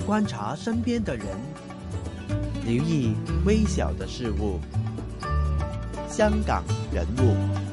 觀察身邊的人，留意微小的事物。香港人物。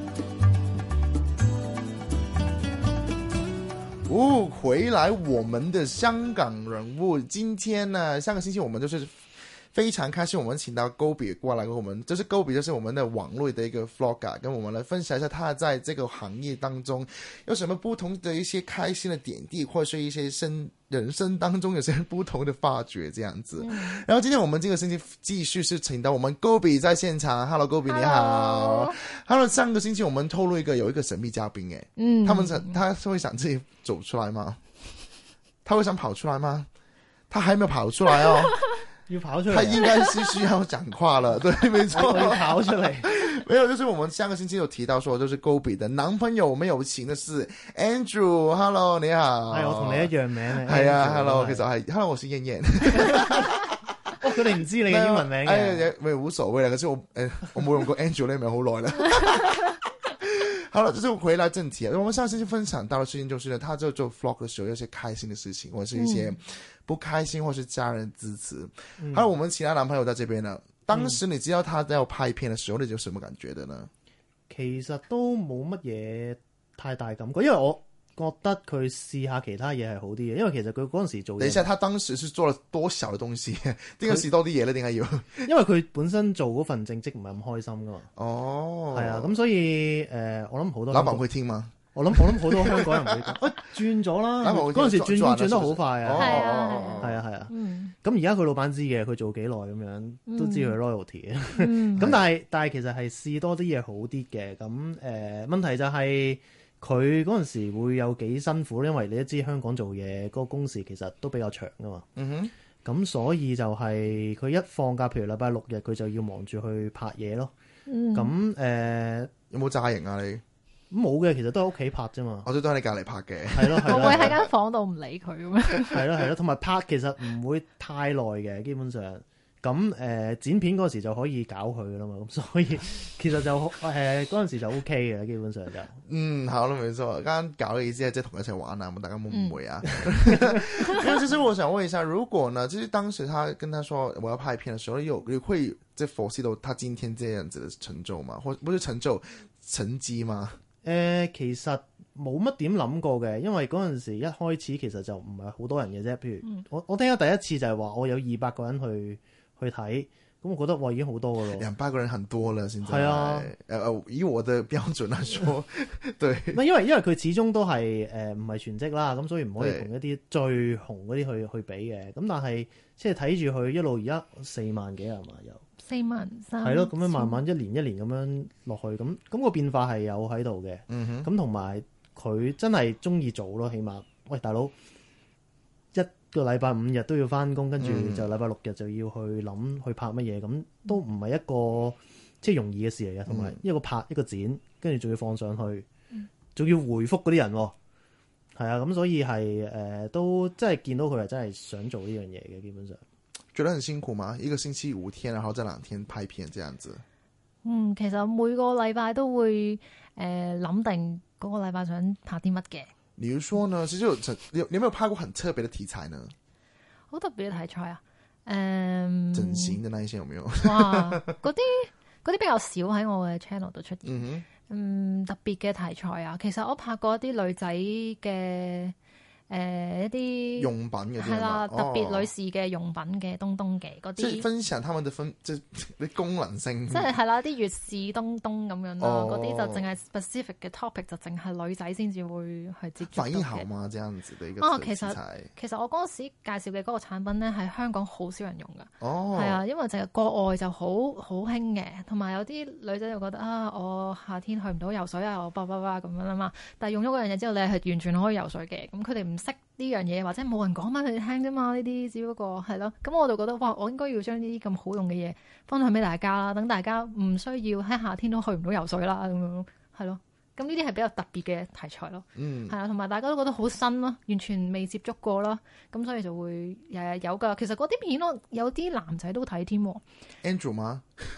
回來我們的香港人物，今天呢，上個星期我們就是非常開心，我們請到 Gobi 過來跟我們，就是 Gobi 就是我們的網絡的一個 vlogger，跟我們來分享一下他在這個行業當中有什麼不同的一些開心的點滴，或者是一些人生當中有些不同的發掘這樣子。然後今天我們這個星期繼續是請到我們 Gobi 在現場。 Hello Gobi 你好。 Hello， 上個星期我們透露有一個神秘嘉賓他會想自己走出來嗎？他會想跑出來嗎？他還沒有跑出來哦。 要跑出來， 他應該是需要講話了。對，沒錯， 要跑出來。 沒有，就是我們上個星期有提到說，就是 Gobi 的男朋友沒有情的是 Andrew。Hello， 你好。 係我同你一樣名嘅。 係啊 ，Hello， 其實係 Hello， 我是燕燕。 佢哋唔知你嘅英文名嘅。 咪無所謂啦，可是我冇用過 Andrew 呢名好耐啦。好了，就是回來正題啊。我們上次就分享到的事情就是呢，他在做 vlog 的時候，有些開心的事情，或者是一些不開心，或是家人支持。還有我們其他男朋友在這邊呢。當時你知道他在拍片的時候，你有什麼感覺的呢？ 其實都冇乜嘢太大感覺，因為我覺得佢試下其他嘢係好啲嘅，因為其實佢嗰陣時做。等一下， 他當時是做了多少嘅東西？點解試多啲嘢咧？點解要？ 因為佢本身做嗰份正職唔係咁開心噶嘛。哦，係啊，咁所以我諗好多。老闆會聽嗎？我諗好多香港人會講，轉咗啦。嗰陣時轉得好快啊。係啊。咁而家佢老闆知嘅，佢做幾耐咁樣都知佢 loyalty 嘅。咁但係其實係試多啲嘢好啲嘅。咁問題就係佢嗰陣時會有幾辛苦，因為你都知香港做嘢嗰個工時其實都比較長噶嘛。咁所以就係佢一放假，譬如禮拜六日，佢就要忙住去拍嘢咯。咁有冇詐型啊你？ 冇嘅，其實都喺屋企拍啫嘛。 我都喺你隔籬拍嘅。 係咯， 我會喺間房度唔理佢咁樣。 係咯，同埋拍其實唔會太耐嘅，基本上。咁剪片嗰時就可以搞佢噶啦嘛，咁所以其實就嗰陣時就 OK 嘅，基本上就。好啦， 沒錯。剛剛搞嘅意思係即係同一齊玩啊，大家冇誤會啊。那其實我想問一下，如果呢，就是當時他跟他說我要拍片的時候，你會即係 foresee 到他今天這樣子的成就嗎？或不是成就，成績嗎？ 其實冇乜點諗過嘅，因為嗰陣時一開始其實就唔係好多人嘅啫。譬如我聽咗第一次就係話我有200個人去睇，咁我覺得哇已經好多噶咯。 200個人很多了，現在。 係啊， 以我的標準來說，對。 因為佢始終都係唔係全職啦，咁所以唔可以同一啲最紅嗰啲去比嘅。咁但係即係睇住佢一路而家4萬幾係嘛有。 43000 係咯，咁樣慢慢一年咁樣落去，咁個變化係有喺度嘅。咁同埋佢真係中意做咯，起碼喂大佬一個禮拜5日都要翻工，跟住就禮拜6日就要去諗去拍乜嘢，咁都唔係一個即係容易嘅事嚟嘅。同埋一個拍一個剪，跟住仲要放上去，仲要回覆嗰啲人，係啊，咁所以係都真係見到佢係真係想做呢樣嘢嘅，基本上。 覺得很辛苦嗎？一個星期5天，然後這2天拍片，這樣子。 其實每個禮拜都會諗定嗰個禮拜想拍啲乜嘅。 比如說呢，其實你有沒有拍過很特別的題材呢？ 好特別嘅題材啊？ 整形的那一些有沒有？ 哇，嗰啲比較少喺我嘅 channel 度出現。特別嘅題材啊，其實我拍過一啲女仔嘅。一啲用品嘅係啦，特別女士嘅用品嘅東嘅嗰啲， 即係分享他們嘅即係啲功能性， 即係啦啲月事東咁樣啦，嗰啲就淨係 specific 嘅 topic， 就淨係女仔先至會去接觸嘅。 反應好嗎？這樣子嘅一個題材。 其實我嗰時介紹嘅嗰個產品咧，係香港好少人用噶。係啊，因為淨係國外就好興嘅，同埋有啲女仔就覺得啊，我夏天去唔到游水啊，我咁樣啦嘛。但係用咗嗰樣嘢之後，你係完全可以游水嘅。咁佢哋唔識呢樣嘢，或者冇人講翻佢哋聽啫嘛，呢啲只不過係咯。咁我就覺得哇，我應該要將呢啲咁好用嘅嘢分享俾大家啦，等大家唔需要喺夏天都去唔到游水啦，咁樣係咯。咁呢啲係比較特別嘅題材咯，係啊，同埋大家都覺得好新咯，完全未接觸過啦，咁所以就會日日有噶。其實嗰啲片咯，有啲男仔都睇添。 Andrew 嗎？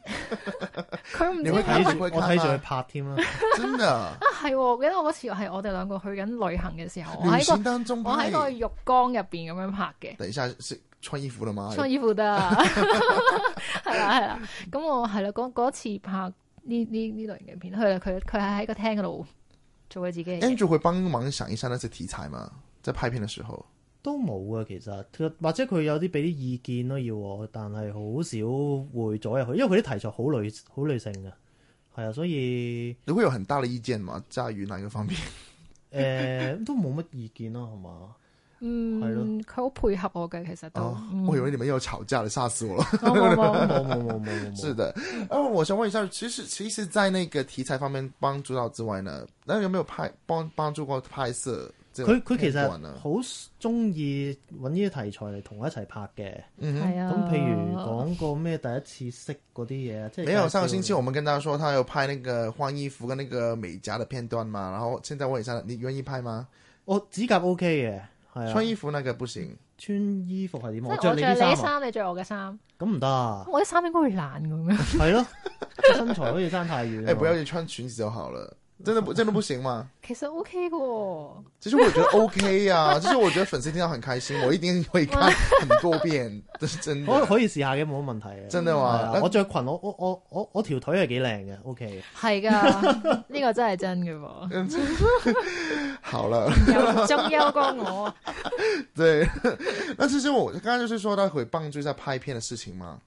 佢唔知我睇住佢拍添啦， 真的係我記得我嗰次係我哋兩個去緊旅行嘅時候， 旅行當中我喺個浴缸入邊咁樣拍嘅。 等一下穿衣服啦嘛？ 穿衣服得係啦，咁我係啦嗰次拍呢類型嘅片，佢係喺個廳嗰度做佢自己嘅。 Andrew 會幫忙想一下那些題材嘛？在拍片嘅時候都冇啊，其實或者佢有啲俾啲意見咯要我，但係好少會左入去，因為佢啲題材好女性嘅，係啊，所以你會有很大的意見嘛？在於哪個方面？ 都冇乜意見咯，係嘛？ 係咯，佢好配合我嘅，其實都。 我以為你們又吵架了，嚇死我了。 冇。 是的，我想問一下，其實在那個題材方面幫助到之外呢，那有沒有幫助過拍攝？ 佢其實好中意揾呢啲題材嚟同我一齊拍嘅。 係啊。 咁譬如講個咩第一次識嗰啲嘢，即係。 沒有，上個星期我們跟大家說，他有拍那個換衣服跟那個美甲的片段嘛。然後現在問一下，你願意拍嗎？ 我指甲 OK 嘅，係啊。 穿衣服那個不行。 穿衣服係點？ 我着你啲衫，你着我嘅衫。 咁唔得啊！ 我啲衫應該會爛咁樣。 係咯，身材好似爭太遠。 不要穿裙子就好了。真的不行嗎？ 其實 OK 嘅， 其實我覺得 OK 啊，就是我覺得粉絲聽到很開心，我一定會看很多遍，真的可以試下嘅，冇乜問題嘅。 真的話， 我着裙，我條腿係幾靚嘅 OK。 係噶，呢個真係真嘅喎。 好了， 仲優過我。 對，那其實我剛剛就是說，他會幫助在拍片的事情嗎？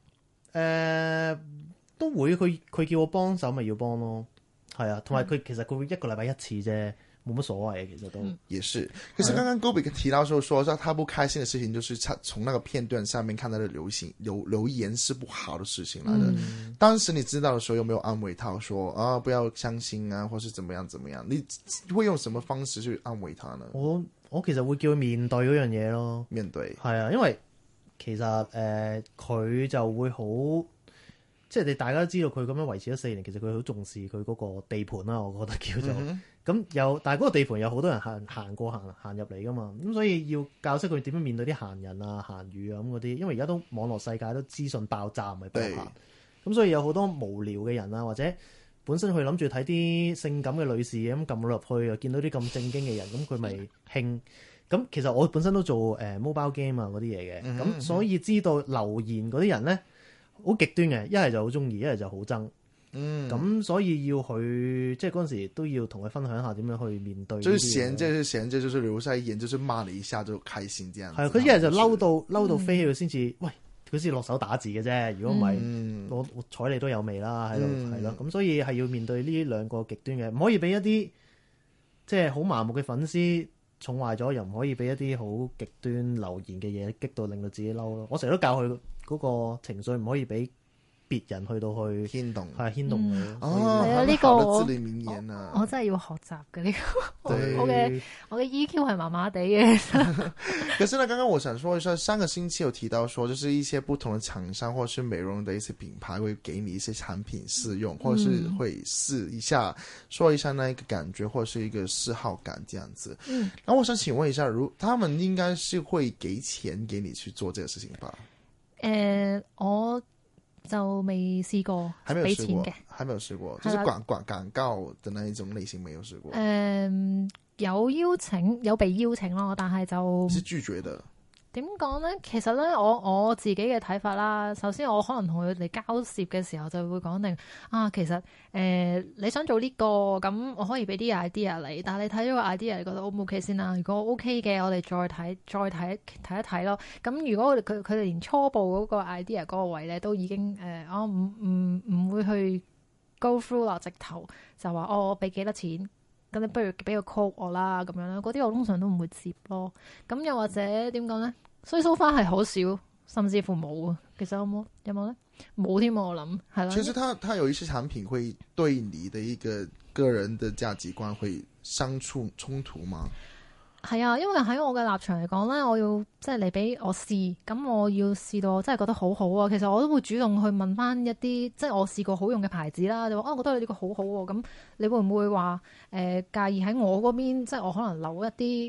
都會，佢叫我幫手咪要幫咯。係啊，同埋佢其實佢會一個禮拜一次啫，冇乜所謂嘅，其實都。也是，可是剛剛 Gobi 提到說他不開心的事情，就是從那個片段上面看到的留言是不好的事情來的。當時你知道的時候，有沒有安慰他說啊，不要傷心啊，或是怎麼樣？你會用什麼方式去安慰他呢？我其實會叫佢面對嗰樣嘢咯。面對。係啊，因為其實佢就會好。即係你大家都知道佢咁樣維持咗4年，其實佢好重視佢嗰個地盤啦，我覺得叫做咁但係嗰個地盤有好多人行過行入嚟噶嘛，咁所以要教識佢點樣面對啲閒人啊、閒語啊咁嗰啲，因為而家都網絡世界都資訊爆炸，唔係爆棚，咁所以有好多無聊嘅人啊，或者本身佢諗住睇啲性感嘅女士咁撳落去，又見到啲咁正經嘅人，咁佢咪興。咁其實我本身都做mobile game 啊嗰啲嘢嘅，咁所以知道留言嗰啲人咧。好極端嘅，一係就好中意，一係就好憎。咁所以要去，即係嗰陣時都要同佢分享下點樣去面對。就是閒着，就是留下一言，就是罵你一下就開心，這樣。係佢一係就嬲到飛起佢先至，喂，佢先落手打字嘅啫。如果唔係，我睬你都有味啦，喺度係咯。咁所以係要面對呢兩個極端嘅，唔可以俾一啲即係好麻木嘅粉絲寵壞咗，又唔可以俾一啲好極端留言嘅嘢激到令到自己嬲咯。我成日都教佢。嗰個情緒唔可以俾別人去到去牽動，係牽動佢。 係啊，呢個我真係要學習嘅呢個。我嘅 EQ 係麻麻地嘅。 可是呢，剛剛我想說一下，上個星期有提到說，就是一些不同的廠商或者是美容的一些品牌會給你一些產品試用，或者是會試一下，說一下那一個感覺，或者是一個嗜好感這樣子。然後我想請問一下，他們應該是會給錢給你去做這個事情吧？ 我就未試過俾錢嘅， 還沒有試過，就是廣告的那一種類型沒有試過。 有邀請，有被邀請咯，但係就是拒絕的。 點講咧？其實咧，我自己嘅睇法啦。首先，我可能同佢哋交涉嘅時候就會講定啊，其實你想做呢個咁，我可以俾啲 idea 你。但係你睇咗個 idea，你覺得 O 唔 OK 先啦？如果 OK 嘅，我哋再睇一睇咯。咁如果佢哋連初步嗰個 idea 嗰個位咧，都已經我唔會去 go through 啦，直頭就話我俾幾多錢。咁你不如俾個 call 我啦，咁樣啦，嗰啲我通常都唔會接咯。咁又或者點講咧？所以 so far 係好少，甚至乎冇啊。其實有冇咧？冇添，我諗係啦。其實他有一些產品會對你的一個人的價值觀會相處衝突嗎？ 係啊，因為喺我嘅立場嚟講咧，我要即係你俾我試，咁我要試到我真係覺得好好啊。其實我都會主動去問翻一啲即係我試過好用嘅牌子啦。你話我覺得你呢個好好喎，咁你會唔會話介意喺我嗰邊，即係我可能留一啲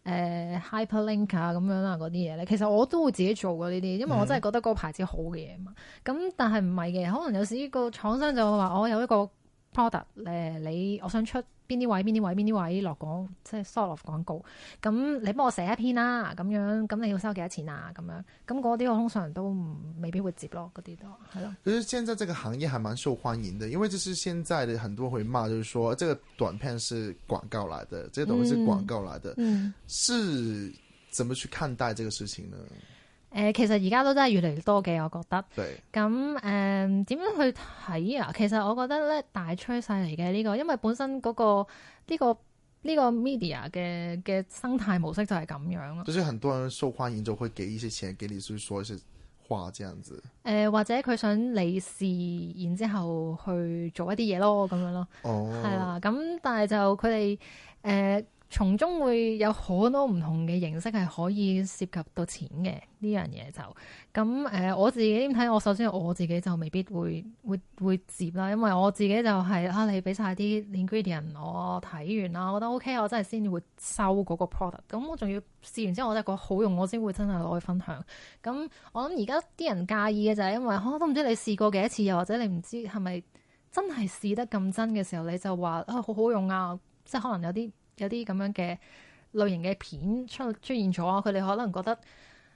hyperlink 啊咁樣啦嗰啲嘢咧，其實我都會自己做過呢啲，因為我真係覺得嗰個牌子好嘅嘢嘛。咁但係唔係嘅，可能有時個廠商就會話我有一個 product 我想出邊啲位落廣，即係 sort of 廣告，咁你幫我寫一篇啦，咁樣，咁你要收幾多錢啊？咁樣，咁嗰啲我通常都未必會接咯，嗰啲都係咯。 其實現在這個行業還蠻受歡迎的，因為就是現在的很多會罵，就是說這個短片是廣告來的，這個東西是廣告來的，是怎麼去看待這個事情呢？ 其實而家都真係越嚟越多嘅，我覺得。 對。 咁點樣去睇啊？其實我覺得咧，大趨勢嚟嘅呢個，因為本身嗰個呢個 media 嘅生態模式就係咁樣咯。 就是很多人受歡迎就會給一些錢給你，去說一些話，這樣子。 或者佢想你試，然之後去做一啲嘢咯，咁樣咯。哦。係啦，咁但係就佢哋從中會有好多唔同嘅形式係可以涉及到錢嘅呢樣嘢就咁我自己點睇？首先我自己就未必會接啦，因為我自己就係你俾晒啲 ingredient 我睇完啦，我覺得 OK， 我真係先會收嗰個 product。咁我仲要試完之後，我真係覺得好用，我先會真係攞去分享。咁我諗而家啲人介意嘅就係因為都唔知你試過幾多次，又或者你唔知係咪真係試得咁真嘅時候，你就話好好用啊，即係可能有啲咁樣嘅類型嘅片出現咗啊，佢哋可能覺得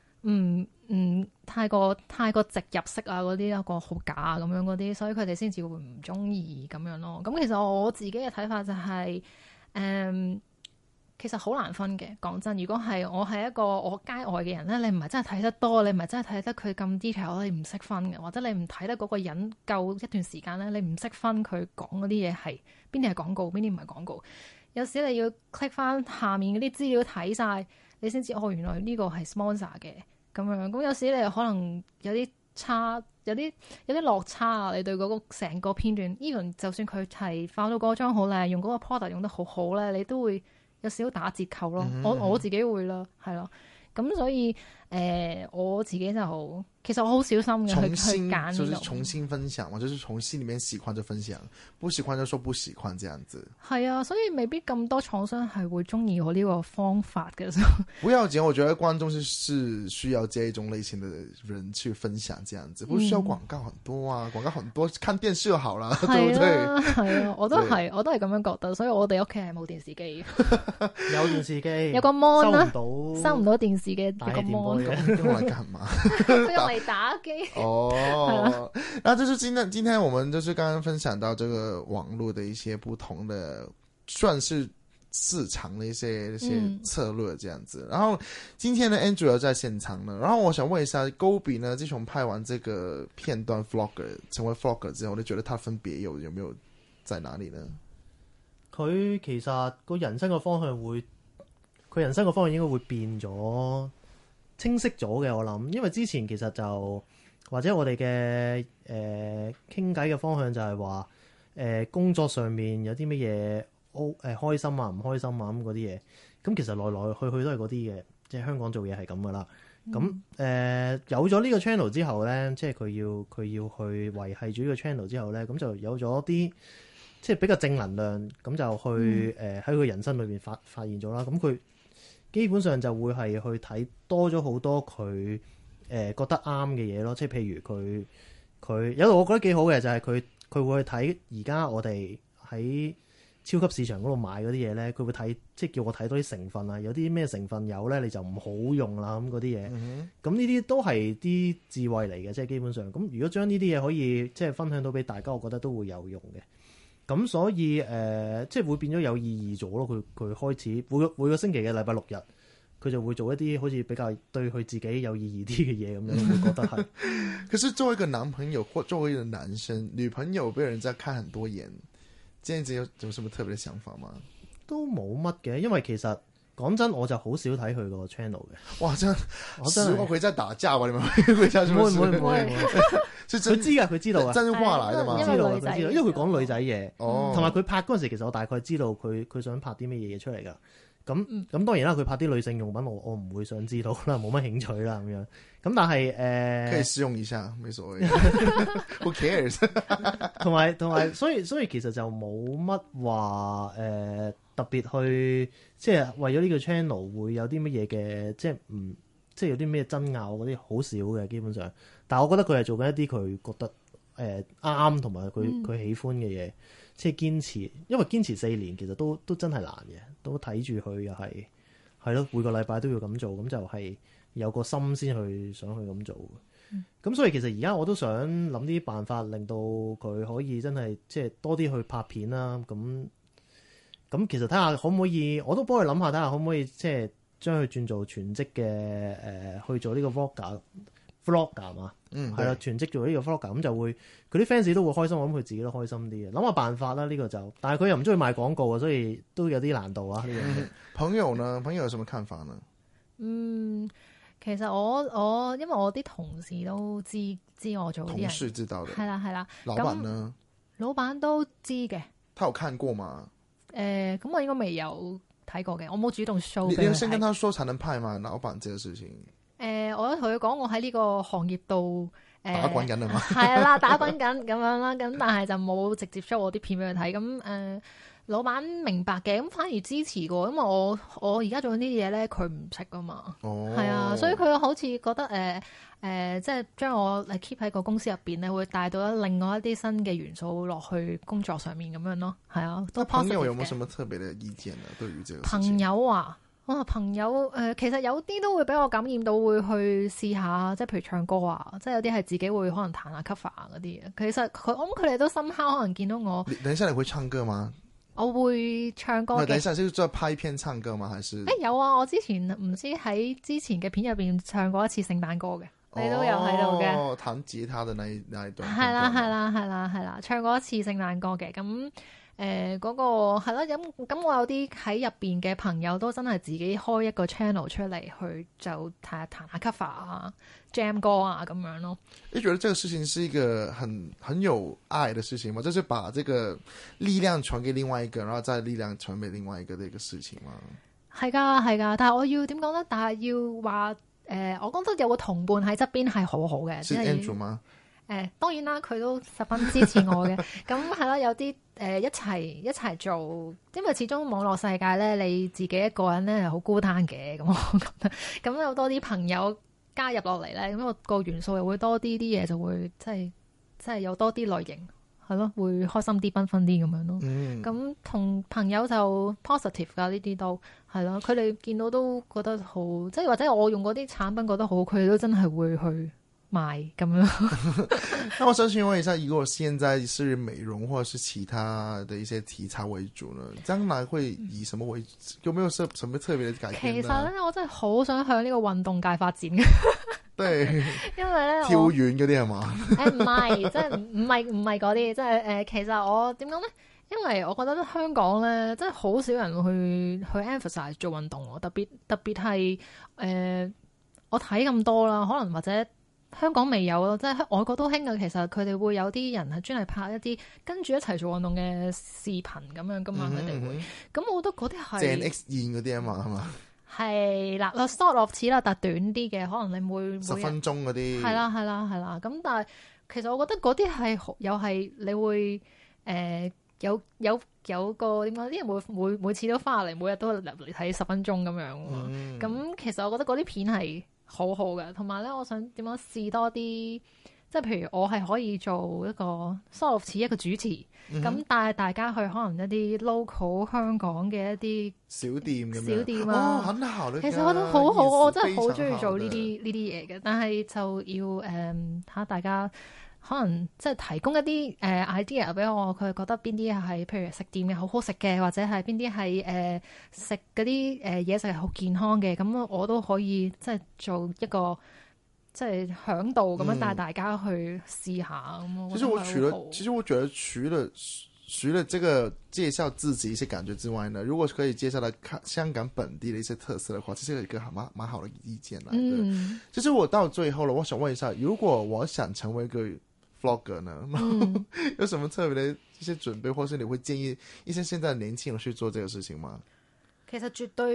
太過直入式啊，嗰啲一個好假啊咁樣嗰啲，所以佢哋先至會唔中意咁樣咯。咁其實我自己嘅睇法就係其實好難分嘅。講真，如果係我係一個我街外嘅人咧，你唔係真係睇得多，你唔係真係睇得佢咁 detail，你唔識分嘅，或者你唔睇得嗰個人夠一段時間咧，你唔識分佢講嗰啲嘢係邊啲係廣告，邊啲唔係廣告。有時你要 click 翻下面嗰啲資料睇晒，你先知原來呢個係 sponsor 嘅咁樣。咁有時你可能有啲差，有啲落差啊。你對嗰個成個片段 even 就算佢係化到嗰張好靚，用嗰個 product 用得好好咧，你都會有少少打折扣咯。我自己會啦，係咯。咁所以我自己就其實我好小心嘅去揀， 就是重新分享嘛，就是從心裡面喜歡就分享，不喜歡就說不喜歡，這樣子。 係啊，所以未必咁多廠商係會中意我呢個方法嘅。 不要緊，我覺得觀眾是需要這一種類型的人去分享，這樣子不需要廣告很多啊，廣告很多看電視就好啦，對不對？ 係啊，我都係咁樣覺得，所以我哋屋企係冇電視機。 有電視機， 有個 mon 啦，收唔到電視嘅個 mon， 用來幹嘛？ 用嚟打機。 哦，那就是今天我們就是剛剛分享到這個網絡的一些不同的，算是市場的一些策略這樣子。然後今天呢 Andrew 在現場呢，然後我想問一下 Gobi 呢，自從拍完這個片段 Vlogger 成為 Vlogger 之後，你覺得他分別有沒有在哪裡呢？ 佢其實個人生嘅方向應該會變咗，清晰咗嘅。我諗，因為之前其實就或者我哋嘅傾偈嘅方向就係話工作上面有啲乜嘢開心啊唔開心啊咁嗰啲嘢，咁其實來來去去都係嗰啲嘅，即係香港做嘢係咁噶啦。咁有咗呢個 channel 之後咧，即係佢要去維繫住呢個 channel 之後咧，咁就有咗啲即係比較正能量，咁就去喺佢人生裏邊發現咗啦。咁佢基本上就會係去睇多咗好多佢覺得啱嘅嘢咯，即係譬如佢有度我覺得幾好嘅就係佢會去睇而家我哋喺超級市場嗰度買嗰啲嘢咧，佢會睇即係叫我睇多啲成分啊，有啲咩成分有咧你就唔好用啦咁嗰啲嘢。咁呢啲都係啲智慧嚟嘅，即係基本上咁如果將呢啲嘢可以即係分享到俾大家，我覺得都會有用嘅。咁所以即係會變咗有意義咗咯。佢開始每個星期嘅禮拜六日，佢就會做一啲好似比較對佢自己有意義啲嘅嘢咁樣，我覺得係。 可是作為一個男朋友或作為一個男生，女朋友被人家看很多眼，這樣子有什麼特別嘅想法嗎？ 都冇乜嘅，因為其實講真，我就好少睇佢個 channel 嘅。 哇！真實話佢真係打架喎，你咪回家做咩？ 唔會。佢知㗎，佢知道啊， 真話嚟㗎嘛， 知道，因為佢講女仔嘢，同埋佢拍嗰陣時，其實我大概知道佢想拍啲咩嘢出嚟㗎。咁當然啦，佢拍啲女性用品，我唔會想知道啦，冇乜興趣啦咁樣。咁但係可以試用一下，冇所謂。Who cares？ 同埋， 所以其實就冇乜話特別去即係為咗呢個 channel 會有啲乜嘢嘅，即係有啲咩爭拗嗰啲好少嘅基本上。但係我覺得佢係做緊一啲佢覺得啱同埋佢喜歡嘅嘢，即係堅持。因為堅持4年其實都真係難嘅，都睇住佢又係咯，每個禮拜都要咁做，咁就係有個心先去想去咁做。咁所以其實而家我都想諗啲辦法，令到佢可以真係即係多啲去拍片啦。咁其實睇下可唔可以，我都幫佢諗下，睇下可唔可以即係將佢轉做全職嘅去做呢個 vlogger 嘛。係啦，全職做呢個 vlogger 咁就會佢啲 fans 都會開心，我諗佢自己都開心啲嘅。諗下辦法啦，呢個就，但係佢又唔中意賣廣告啊，所以都有啲難度啊。呢樣嘢。 朋友呢？朋友有什麼看法呢？ 其實我因為我啲同事都知我做啲人， 同事知道嘅， 係啦。 老闆呢？ 老闆都知嘅。 他有看過嗎？ 咁我應該未有睇過嘅，我冇主動 show。 你要先跟他說才能派嘛，老闆這個事情。 我同佢講，我喺呢個行業度打滾緊啊嘛， 係啦，打滾緊咁樣啦，咁但係就冇直接 show 我啲片俾佢睇。咁老闆明白嘅，咁反而支持過，因為我而家做緊啲嘢咧，佢唔識噶嘛，係啊，所以佢好似覺得即係將我 keep 喺個公司入邊咧，會帶到另外一啲新嘅元素落去工作上面咁樣咯，係啊。都朋友有冇什麼特別嘅意見呢？對於這個事情朋友啊，朋友其實有啲都會俾我感染到，會去試下，即係譬如唱歌啊，即係有啲係自己會可能彈下 cover 啊嗰啲。其實我諗佢哋都深刻，可能見到我。 等一下你會唱歌嗎？ 我會唱歌嘅。 等一下是在拍片唱歌嗎？還是？ 有啊！我之前唔知喺之前嘅片入邊唱過一次聖誕歌嘅，你都有喺度嘅。 哦，彈吉他嘅那一段。 係啦，唱過一次聖誕歌嘅。咁嗰個係咯，咁我有啲喺入邊嘅朋友都真係自己開一個 channel 出嚟，去就彈下 cover 啊、jam 歌啊咁樣咯。 你覺得這個事情是一個很有愛的事情嗎？就是把這個力量傳給另外一個，然後再力量傳給另外一個的一個事情嗎？ 係㗎，但係我要點講咧？但係要話我覺得有個同伴喺側邊係好好嘅。 是 Andrew 嗎？ 當然啦，佢都十分支持我嘅。咁係啦，有啲一齊做，因為始終網絡世界咧，你自己一個人咧係好孤單嘅。咁我覺得，咁有多啲朋友加入落嚟咧，咁個元素又會多啲，啲嘢就會即係有多啲類型，係咯，會開心啲、繽紛啲咁樣咯。咁同朋友就 positive 㗎，呢啲都係咯。佢哋見到都覺得好，即係或者我用嗰啲產品覺得好，佢哋都真係會去買咁樣。 那我想請問一下，如果現在是美容或者是其他的一些題材為主呢？將來會以什麼為？有沒有什麼特別的改變呢？ 其實咧，我真係好想向呢個運動界發展嘅。 對， 因為咧跳遠嗰啲係嘛？ 唔係，即係唔係嗰啲，即係其實我點講咧？因為我覺得香港咧，真係好少人去 emphasize 做運動喎，特別係我睇咁多啦，可能或者香港未有咯，即係外國都興嘅。其實佢哋會有啲人係專係拍一啲跟住一齊做運動嘅視頻咁樣噶嘛，佢哋會。咁我覺得嗰啲係鄭 X 燕嗰啲啊嘛，係嘛？ 係啦，short 落似啦，但短啲嘅，可能你每 10分鐘嗰啲。係啦。咁但係其實我覺得嗰啲係又係你會有個點講？啲人每次都翻嚟，每日都嚟睇10分鐘咁樣。咁其實我覺得嗰啲片係好好嘅，同埋咧，我想點樣試多啲，即係譬如我係可以做一個 sort 似一個主持，咁帶大家去可能一啲 local 香港嘅一啲小店咁樣。小店啊， 很好， 其實我覺得好好，我真係好中意做呢啲嘢嘅，但係就要睇下大家。可能即係提供一啲idea 俾我，佢覺得邊啲係譬如食店嘅好好食嘅，或者係邊啲係食嗰啲嘢食係好健康嘅，咁我都可以即係做一個即係響度咁樣帶大家去試下咁。其實我覺得除了這個介紹自己一些感覺之外呢，如果可以介紹到香港本地的一些特色的話，這是一個蠻好的意見來的。其實我到最後了，我想問一下，如果我想成為一個vlogger 呢，有什麼特別的一些準備，或是你會建議一些現在的年輕人去做這個事情嗎？ 其實絕對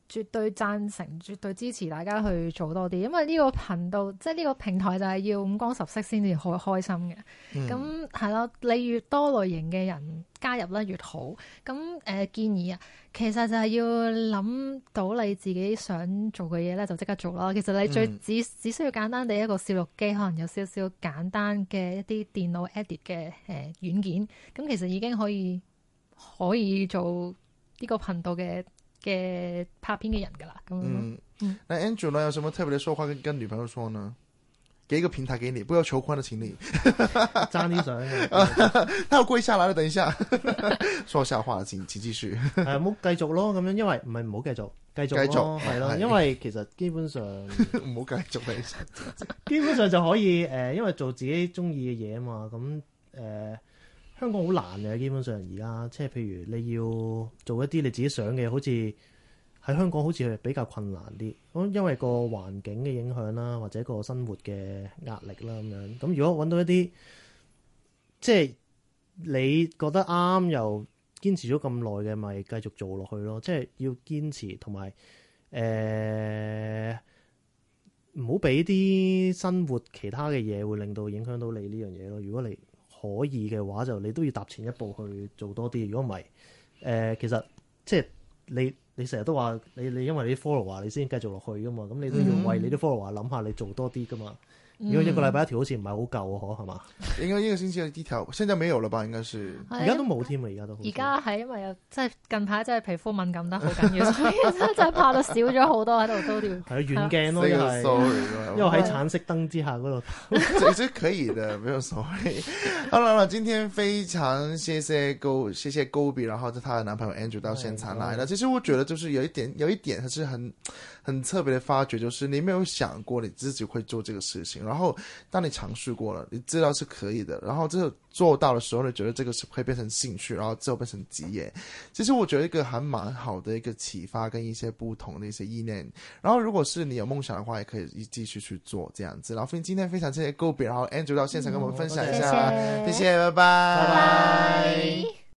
絕對贊成，絕對支持大家去做多啲，因為呢個頻道即係呢個平台就係要五光十色先至開心嘅。咁係咯，你越多類型嘅人加入咧越好。咁建議啊，其實就係要諗到你自己想做嘅嘢咧，就即刻做啦。其實你只需要簡單地一個攝錄機，可能有少少簡單嘅一啲電腦 edit 嘅軟件，咁其實已經可以做呢個頻道嘅拍片嘅人噶啦。 那 Andrew 呢，有什麼特別的說話跟女朋友說呢？給一個平台給你，不要求寬的請你爭啲相他要跪下來了，等一下說下話，請繼續唔好繼續咯，咁樣，因為唔係唔好繼續係咯，因為其實基本上唔好繼續基本上就可以因為做自己中意嘅嘢啊嘛。咁香港好難嘅，基本上而家即係譬如你要做一啲你自己想嘅，好似喺香港好似係比較困難啲，咁因為個環境嘅影響啦，或者個生活嘅壓力啦咁樣。咁如果揾到一啲即係你覺得啱又堅持咗咁耐嘅，咪繼續做落去咯。即係要堅持，同埋唔好俾啲生活其他嘅嘢會令到影響到你呢樣嘢咯。如果你可以嘅話，就你都要踏前一步去做多啲。如果唔係其實即係你成日都話你因為你啲 follower 你先繼續落去噶嘛，咁你都要為你啲 follower 諗下，你做多啲噶嘛。如果一個禮拜一條好似唔係好夠啊，係嘛？ 應該一個星期一條，現在沒有了吧？應該是而家都冇添啊！ 而家係因為又即係近排真係皮膚敏感得好緊要，所以真係拍到少咗好多喺度都掉。 係遠鏡咯，因為喺橙色燈之下嗰度。 這是可以的，沒有所謂。好了，今天非常謝謝 Gobi， 然後她的男朋友 Andrew 到現場來了。其實我覺得就是有一點，係很特別的發掘，就是你沒有想過你自己會做這個事情。然後當你嘗試過了，你知道是可以的，然後這做到的時候，你覺得這個是會變成興趣，然後之後變成職業。其實我覺得一個還蠻好的一個啟發跟一些不同的一些意念。然後如果是你有夢想的話，也可以繼續去做這樣子。然後今天非常謝謝 Gobi， 然後 Andrew 到現場跟我們分享一下，謝謝，拜拜。